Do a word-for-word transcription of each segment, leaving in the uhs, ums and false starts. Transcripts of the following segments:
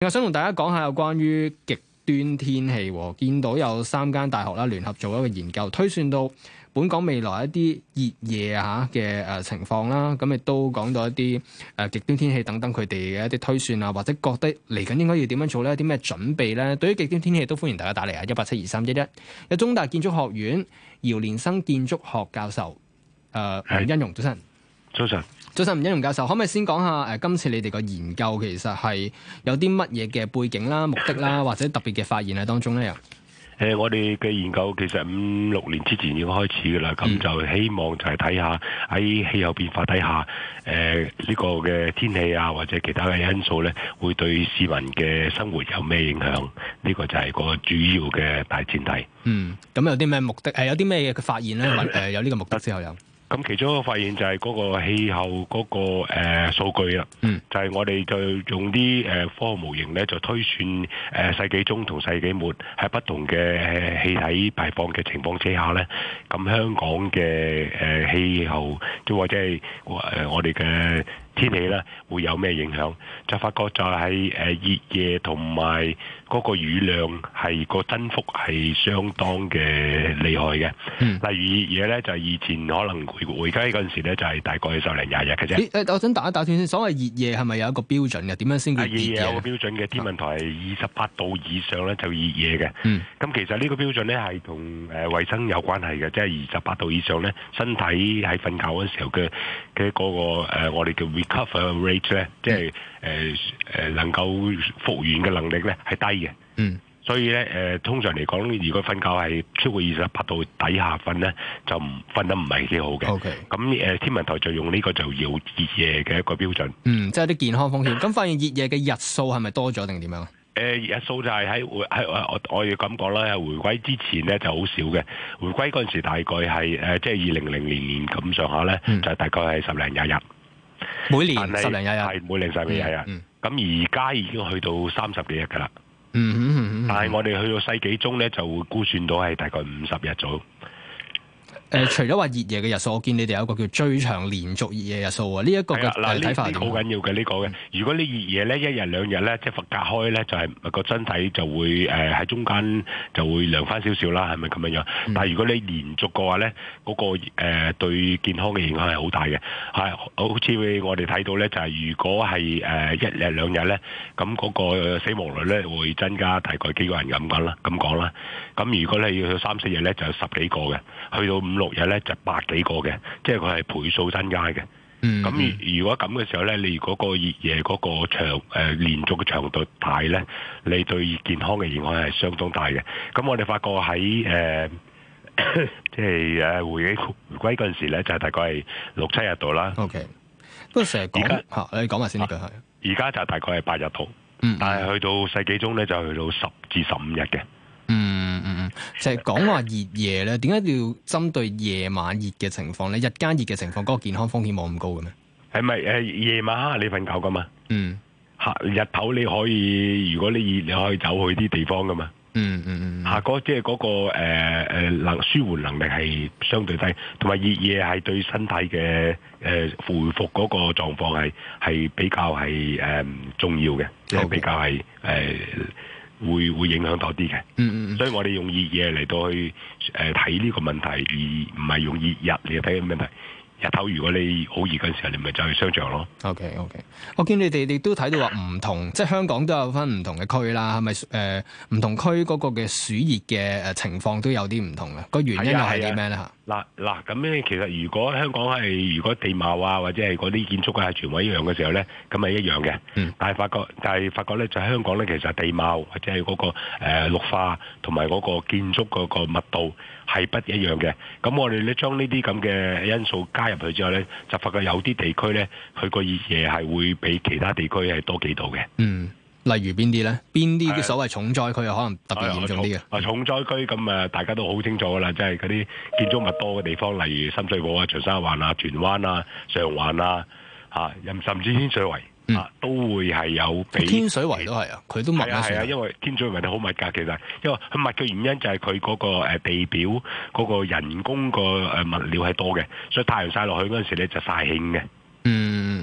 我想同大家講下有關於極端天氣，見到有三間大學啦聯合做一個研究，推算到本港未來一啲熱夜啊嘅誒情況啦，咁亦都講到一啲誒極端天氣等等佢哋嘅一啲推算啊，或者覺得嚟緊應該要點樣做咧？啲咩準備咧？對於極端天氣都歡迎大家打嚟啊！一八七二三一一，有中大建築學院姚連生建築學教授誒吳欣榕，早晨。 早晨。 早晨，吳欣榕教授，可唔可以先講下誒、呃、今次你哋個研究其實係有啲乜嘢嘅背景啦、目的啦，或者特別嘅發現喺當中咧？又誒、 呃，我哋嘅研究其實五六年之前已經開始㗎啦，咁、嗯、就希望就係睇下喺氣候變化底下，誒、呃、呢、這個嘅天氣啊，或者其他嘅因素咧，會對市民嘅生活有咩影響？呢、這個就係個主要嘅大前提。 嗯，咁有啲咩目的？誒、呃，有啲咩嘅發現咧？誒、呃，有呢個目的之後有。 咁其中一個發現就係嗰個氣候嗰、那個誒、呃、數據啦，嗯、就係我哋就用啲誒、呃、科學模型咧，就推算誒、呃、世紀中同世紀末喺不同嘅氣體排放嘅情況之下咧，咁香港嘅誒、呃、氣候，即或者係誒、呃、我哋嘅天氣咧，會有咩影響？就發覺就係誒熱夜同埋嗰個雨量係個增幅係相當嘅厲害嘅。嗯、例如熱夜咧，就係以前可能回回歸嗰陣時咧，就係大概十零廿日嘅啫。 誒，我想打一打斷先。所謂熱夜係咪有一個標準嘅？點樣先叫熱夜？熱夜有個標準嘅，天文台係二十八度以上咧就熱夜嘅。咁、嗯、其實呢個標準咧係同誒衞生有關係嘅，即係二十八度以上咧，身體喺瞓覺嗰時候嘅嘅嗰個、呃、我哋叫 recover rate 咧，即係誒誒能夠復原嘅能力咧係低嘅。嗯，所以咧誒、呃，通常嚟講，如果瞓覺係超過二十八度底下瞓咧，就唔瞓得唔係幾好嘅。O K，咁誒天文台就用呢個就要熱夜嘅一個標準。嗯， 即係啲健康風險。咁發現熱夜嘅日數係咪多咗定點樣？誒、 呃，日數就係喺回喺我我要咁講啦，回歸之前咧就好少嘅。回歸嗰陣時大概係誒、呃、即係二零零零年咁上下咧，嗯、就大概係十零廿日。 每年十零廿日， 係每年十零廿日。咁而家已經去到三十幾日㗎啦。 嗯哼嗯嗯， 但係我哋去到世紀中咧，就會估算到係大概五十日左右。 誒、呃，除咗話熱夜嘅日數，我見你哋有一個叫最長連續熱夜日數啊！呢、這、一個嘅睇法係好緊要嘅呢個嘅。如果你熱夜咧，一日兩日咧，即係隔開咧，就係、是、個身體就會誒喺、呃、中間就會涼翻少少啦，係咪咁樣樣？嗯、但係如果你連續嘅話咧，嗰、那個誒、呃、對健康嘅影響係好大嘅。係好似我哋睇到咧，就係、是、如果係誒、呃、一日兩日咧，咁嗰個死亡率咧會增加大概幾個人咁講啦，咁講啦。咁如果你要去三四日咧，就有十幾個嘅，去到五六日咧就百幾個嘅，即係佢係倍數增加嘅。咁、嗯嗯、如果咁嘅時候咧，你嗰個熱夜嗰個長誒、呃、連續嘅長度大咧，你對健康嘅影響係相當大嘅。咁我哋發覺喺誒即係誒回歸回歸嗰陣時咧，就係、大概係六七日度啦。 OK，不過成日講嚇，你講埋先呢句係。 而家就大概係八日度， 嗯、 但係去到世紀中咧就去到十至十五日嘅。 嗯嗯嗯，就係講話熱夜咧，點解要針對夜晚熱嘅情況咧？日間熱嘅情況，嗰、嗰個健康風險冇咁高嘅咩？係咪誒夜晚黑你瞓覺噶嘛？ 嗯， 嚇日頭你可以，如果你熱你可以走去啲地方噶嘛？ 嗯嗯嗯， 嚇嗰即係嗰個誒誒能舒緩能力係相對低，同埋熱夜係對身體嘅誒、呃、恢復嗰個狀況係係比較係誒、呃、重要嘅，即係 Okay. 比較係誒。呃會會影響多啲嘅，嗯嗯，所以我哋用熱夜嚟到去誒睇呢個問題，而唔係用熱日嚟睇個問題。日頭如果你好熱嗰陣時候，你咪就去商場咯。 OK OK，我見你哋亦都睇到話唔同，即係香港都有分唔同嘅區啦，係咪誒唔同區嗰個嘅暑熱嘅誒情況都有啲唔同嘅？個原因又係啲咩咧嚇？ 嗱嗱咁咧，其實如果香港係如果地貌啊或者係嗰啲建築啊全部一樣嘅時候咧，咁係一樣嘅。嗯。但係發覺，但係發覺咧，就係香港咧，其實地貌或者係嗰個誒綠化同埋嗰個建築嗰個密度係不一樣嘅。咁我哋咧將呢啲咁嘅因素加入去之後咧，就發覺有啲地區咧，佢個熱夜係會比其他地區係多幾度嘅。 嗯。例如邊啲咧？邊啲嘅所謂重災區又可能特別嚴重啲嘅？ 啊，重災區咁誒，大家都好清楚噶啦，即係嗰啲建築物多嘅地方，例如深水埗啊、長沙灣啊、荃灣啊、上環啊，嚇，甚至天水圍、嗯、啊，都會係有比。天水圍都係啊，佢都密啊，係啊，因為天水圍好密㗎，其實因為佢密嘅原因就係佢嗰個誒地表嗰個人工個誒物料係多嘅，所以太陽曬落去嗰陣時咧就曬興嘅。 嗯。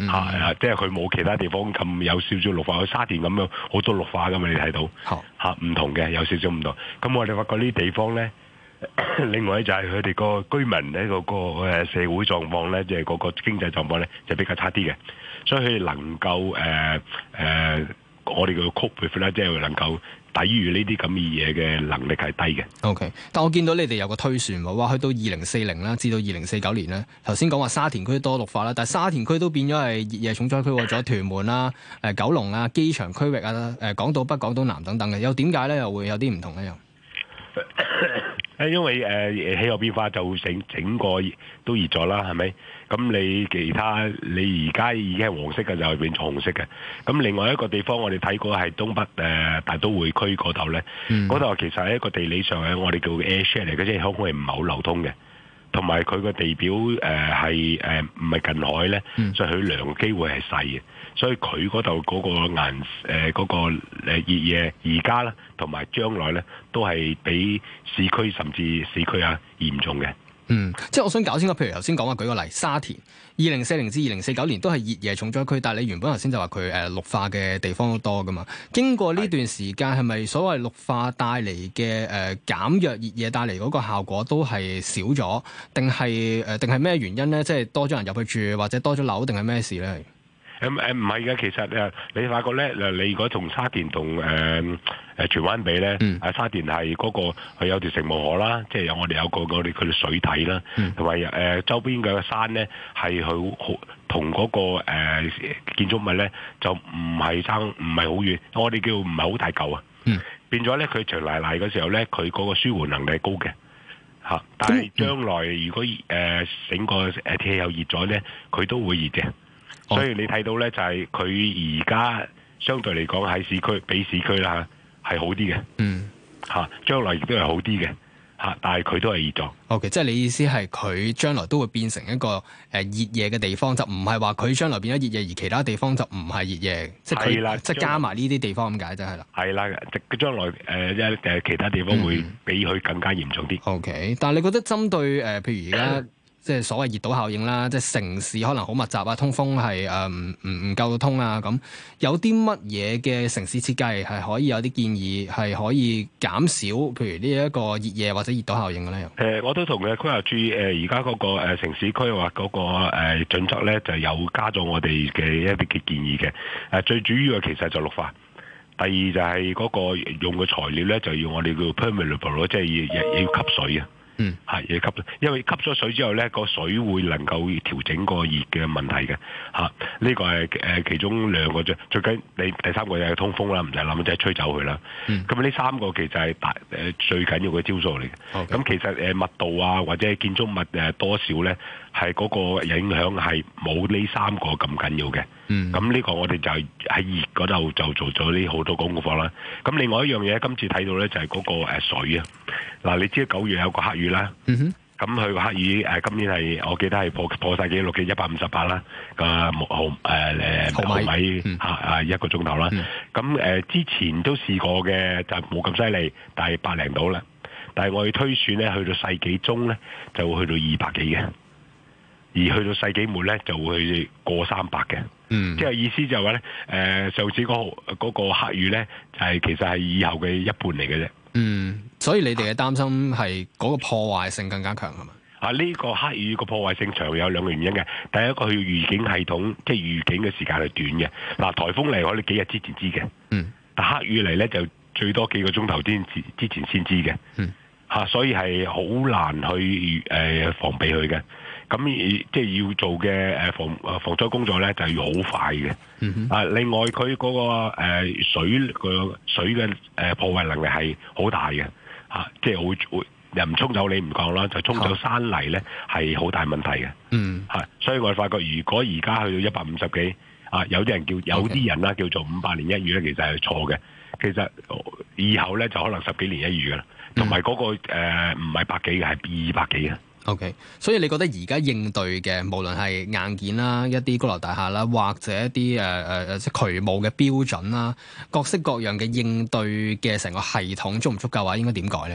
嗯啊，即係佢冇其他地方咁有少少綠化，去沙田咁樣好多綠化噶嘛，你睇到好嚇唔同嘅，有少少唔同。咁我哋發覺呢啲地方咧，另外就係佢哋個居民咧嗰個誒社會狀況咧，即係嗰個經濟狀況咧，就比較差啲嘅，所以佢哋能夠誒誒、呃呃，我哋叫 cope with 咧，即係能夠抵禦呢啲咁嘅嘢嘅能力係低嘅。 O、okay. K， 但我見到你哋有個推算喎，話去到二零四零啦，至到二零四九年咧，頭先講話沙田區多綠化啦，但係沙田區都變咗係熱夜重災區，咗屯門啦、誒九龍啊、機場區域啊、誒港島北、港島南等等嘅，又點解咧？又會有啲唔同咧？又誒，因為誒、呃、氣候變化就整整個都熱咗啦，係咪？咁你其他你而家已經係黃色嘅，就係變咗紅色嘅。咁另外一個地方我哋睇過係東北誒、呃、大都會區嗰度咧，嗰度、嗯、其實係一個地理上係我哋叫 airshed 嚟嘅，即係空氣唔係好流通嘅，同埋佢個地表誒係誒唔係近海咧，嗯、所以佢涼機會係細嘅。所以佢嗰度嗰個顏誒嗰個誒熱嘢而家咧，同埋將來咧，都係比市區甚至市區啊嚴重嘅。 嗯，即係我想搞清楚，譬如頭先講話舉個例，沙田二零四零至二零四九年都係熱夜重災區，但係你原本頭先就話佢誒綠化嘅地方都多噶嘛。經過呢段時間，係咪所謂綠化帶嚟嘅誒減弱熱夜帶嚟嗰個效果都係少咗，定係誒定係咩原因咧？即係多咗人入去住，或者多咗樓，定係咩事咧？ 誒誒唔係嘅，其實誒你發覺咧，誒你如果同沙田同誒誒荃灣比咧，啊、嗯、沙田係嗰、那個佢有條城門河啦，即係有我哋有個我哋佢哋水體啦，同埋誒周邊嘅山咧係好好同嗰個誒、呃、建築物咧就唔係爭唔係好遠，我哋叫唔係好大嚿啊，嗯、變咗咧佢長賴賴嘅時候咧，佢嗰個舒緩能力係高嘅嚇，但係將來如果誒、呃、整個誒天氣又熱咗咧，佢都會熱嘅。所以你睇到咧，就係佢而家相對嚟講喺市區比市區啦係好啲嘅，嗯嚇，將來亦都係好啲嘅嚇，但係佢都係熱咗。 O.K. 即係你意思係佢將來都會變成一個誒熱夜嘅地方，就唔係話佢將來變咗熱夜，而其他地方就唔係熱夜，即係佢即係加埋呢啲地方咁解，就係啦。係啦，佢將來誒誒、呃、其他地方會比佢更加嚴重啲。 O.K. 但係你覺得針對誒、呃、譬如而家？即係所謂熱島效應啦，即係城市可能好密集啊，通風係誒唔唔唔夠通啊，咁有啲乜嘢嘅城市設計係可以有啲建議係可以減少，譬如呢一個熱夜或者熱島效應嘅咧？誒、 呃，我都同嘅規劃處誒而家嗰個、呃、城市規劃嗰個誒、呃、準則咧，就有加咗我哋嘅一啲嘅建議嘅。誒、呃、最主要嘅其實就綠化，第二就係嗰個用嘅材料咧，就要我哋叫 permeable 即係要要吸水啊。嗯，係要吸，因為吸咗水之後咧，個水會能夠調整個熱嘅問題嘅，嚇、啊，呢、這個係誒、呃、其中兩個啫，最緊你第三個就係通風啦，唔使諗，即係吹走佢啦。咁呢、嗯、三個其實係大誒、呃、最緊要嘅招數嚟嘅。咁 Okay. 其實誒、呃、密度啊，或者建築物誒、呃、多少咧，係嗰個影響係冇呢三個咁緊要嘅。咁呢、嗯、個我哋就係喺熱嗰度就做咗呢好多功課啦。咁另外一樣嘢，今次睇到咧就係、是、嗰、那個、呃、水啊。嗱，你知道九月有個黑雨啦，咁佢個黑雨誒、呃、今年係我記得係破破曬紀錄嘅一百五十八啦個毫誒誒毫米嚇啊一個鐘頭啦。咁誒、呃、之前都試過嘅，就冇咁犀利，但係百零度啦。但係我哋推算咧，去到世紀中咧就會去到二百幾嘅，而去到世紀末咧就會去過三百嘅。嗯，即係意思就係話咧誒上次嗰嗰個黑雨咧就係、是、其實係以後嘅一半嚟嘅啫。 嗯，所以你哋嘅擔心係嗰個破壞性更加強係嘛？ 啊，呢、這個黑雨個破壞性長有兩個原因嘅。第一個佢預警系統，即係預警嘅時間係短嘅。嗱、啊，颱風嚟我哋幾日之前知嘅。嗯。但黑雨嚟咧就最多幾個鐘頭之之前先知嘅。嗯。嚇、啊，所以係好難去誒、呃、防備佢嘅。咁即係要做嘅誒防誒防災工作咧，就係要好快嘅。嗯、哼啊，另外佢嗰、那個、呃、水個水嘅誒、呃、破壞能力係好大嘅嚇、啊，即係會會又唔沖走你唔講啦，就沖走山泥咧係好大問題嘅。嗯，係、啊，所以我哋發覺，如果而家去到一百五十幾啊，有啲人叫有啲人啦叫做五百年一遇咧，其實係錯嘅。其實以後咧就可能十幾年一遇噶啦，同埋嗰個唔係百幾嘅，係二百幾嘅。 O.K. 所以你覺得而家應對嘅，無論係硬件啦、一啲高樓大廈啦，或者一啲誒誒即係渠務嘅標準啦，各式各樣嘅應對嘅成個系統足唔足夠啊？應該點改咧？ 誒、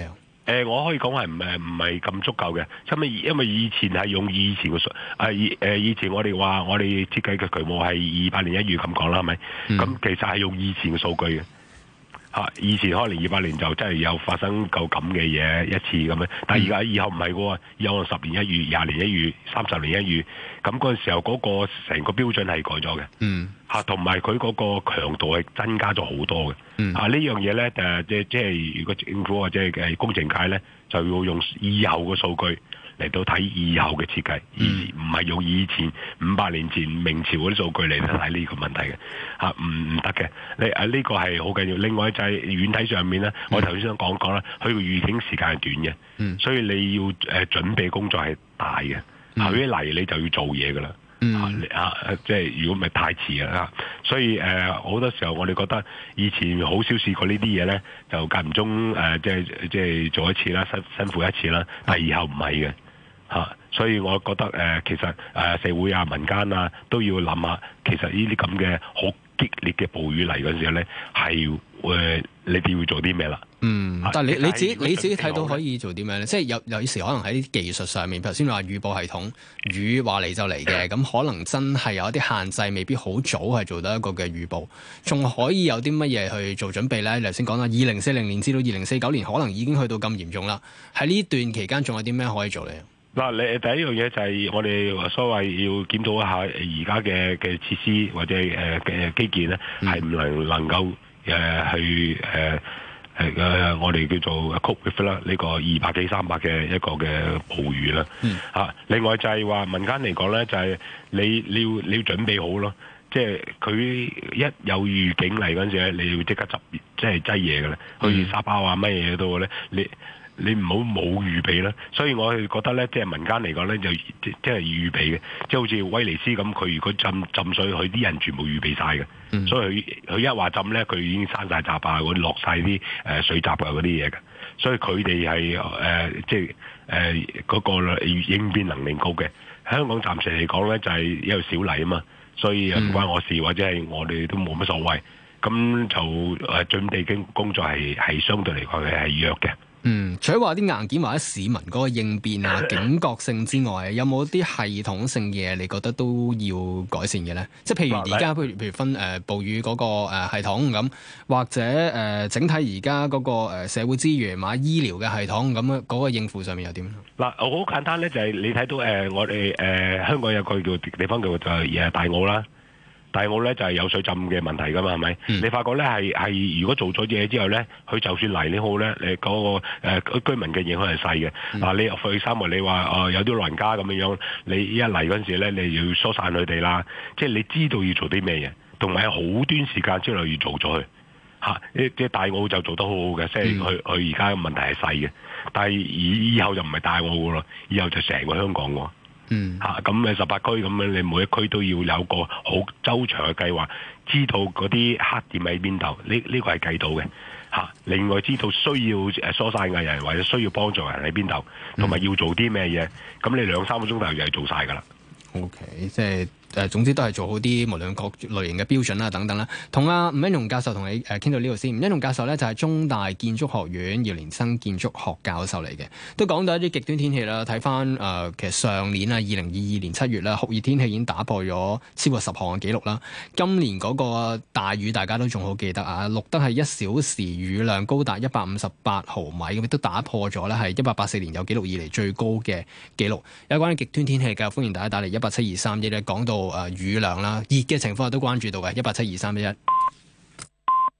誒，我可以講係唔係唔係咁足夠嘅，因為因為以前係用以前嘅數，誒以誒以前我哋話我哋設計嘅渠務係二百年一遇咁講啦，係咪？咁、嗯、其實係用以前嘅數據嘅。嚇！以前可能二百年就真係有發生夠咁嘅嘢一次咁樣，但係而家以後唔係喎，以後十年一遇、廿年一遇、三十年一遇，咁嗰陣時候嗰個成個標準係改咗嘅。嗯。嚇，同埋佢嗰個強度係增加咗好多嘅。嗯。嚇，呢樣嘢咧誒，即即係如果政府或者係工程界咧，就要用以後嘅數據嚟到睇以後嘅設計，而唔係用以前五百年前明朝嗰啲數據嚟睇呢個問題嘅。嚇，唔唔得嘅。你誒呢個係好緊要。另外就係軟體上面咧，我頭先想講講啦，佢個預警時間係短嘅，嗯、所以你要誒準備工作係大嘅。後一嚟你就要做嘢噶啦。嗯、啊，即係如果唔係太遲啦，所以誒好、呃、多時候我哋覺得以前好少試過呢啲嘢咧，就間唔中誒、呃、即係即係做一次啦，辛辛苦一次啦，但係以後唔係嘅嚇，所以我覺得誒、呃、其實誒、呃、社會啊、民間啊都要諗下，其實呢啲咁嘅好激烈嘅暴雨嚟嗰陣時候咧，係誒你哋要做啲咩啦？嗯， 但係你你自己你自己睇到可以做啲咩咧？即係有有時可能喺啲技術上面，頭先話預報系統雨話嚟就嚟嘅，咁可能真係有一啲限制，未必好早係做到一個嘅預報，仲可以有啲乜嘢去做準備咧？你頭先講啦，二零四零年至到二零四九年，可能已經去到咁嚴重啦。喺呢段期間，仲有啲咩可以做咧？ 嗱，你第一樣嘢就係我哋所謂要檢討一下而家嘅嘅設施或者誒嘅基建咧，係唔能能夠誒、呃、去誒。呃係嘅、呃，我哋叫做 cope with 啦，呢個二百幾三百嘅一個嘅暴雨啦。嗯。啊，另外就係話民間嚟講咧，就係、是、你你要你要準備好咯，即係佢一有預警嚟嗰陣時咧，你要即刻執即係擠嘢嘅啦，好似沙包啊乜嘢都咧，你你唔好冇預備啦。所以我係覺得咧，即係民間嚟講咧，就即係預備嘅，即係好似威尼斯咁，佢如果浸浸水，佢啲人全部預備晒嘅。嗯、所以佢佢一話浸咧，佢已經閂晒閘啊，嗰啲落晒啲誒水閘啊嗰啲嘢嘅。所以佢哋係誒即係誒嗰個應變能力高嘅。香港暫時嚟講咧，就係、是、因為小麗啊嘛，所以唔關我事，或者係我哋都冇乜所謂。咁就誒準備嘅工作係係相對嚟講係弱嘅。 嗯，除咗話啲硬件或者市民嗰個應變啊、警覺性之外，有冇啲系統性嘢你覺得都要改善嘅咧？即係譬如而家，譬如譬如分誒、呃、暴雨嗰個誒系統咁，或者誒、呃、整體而家嗰個誒社會資源或者醫療嘅系統咁樣嗰個應付上面又點？ 嗱，好簡單咧，就係、是、你睇到誒、呃、我哋誒、呃、香港有個叫地方叫就係誒大澳啦。大澳咧就係、是、有水浸嘅問題噶嘛，係咪？嗯、你發覺咧係係如果做咗嘢之後咧，佢就算嚟你好咧，你嗰、那個誒、呃、居民嘅影響係細嘅。嗱、嗯啊，你入去三圍，你話哦、呃、有啲老人家咁樣樣，你一嚟嗰陣時咧，你要疏散佢哋啦。即係你知道要做啲咩嘢，同埋好短時間之內要做咗佢嚇。即係大澳就做得好好嘅，即係佢佢而家嘅問題係細嘅，但係以以後就唔係大澳噶咯，以後就成個香港喎。嗯，嚇咁誒十八區咁樣，你每一區都要有個好周長嘅計劃，知道嗰啲黑點喺邊度，呢呢、呢個係計到嘅嚇、啊。另外知道需要誒疏散嘅人或者需要幫助人喺邊度，同埋要做啲咩嘢，咁你兩三個鐘頭就係做晒㗎啦。 O K，即係。誒，總之都係做好啲，無論各類型嘅標準啦，等等啦。同阿吳恩融教授同你誒傾到呢度先。吳恩融教授咧就係中大建築學院姚連生建築學教授嚟嘅，都講到一啲極端天氣啦。睇翻誒，其實上年啊，二零二二年七月啦，酷熱天氣已經打破咗超過十項嘅紀錄啦。今年嗰個大雨大家都仲好記得啊，錄得係一小時雨量高達一百五十八毫米，咁亦都打破咗咧係一八八四年有紀錄以嚟最高嘅紀錄。有關於極端天氣嘅，歡迎大家打嚟一八七二三一咧，講到誒雨量啦，熱嘅情況都關注到嘅，一八七二三一一。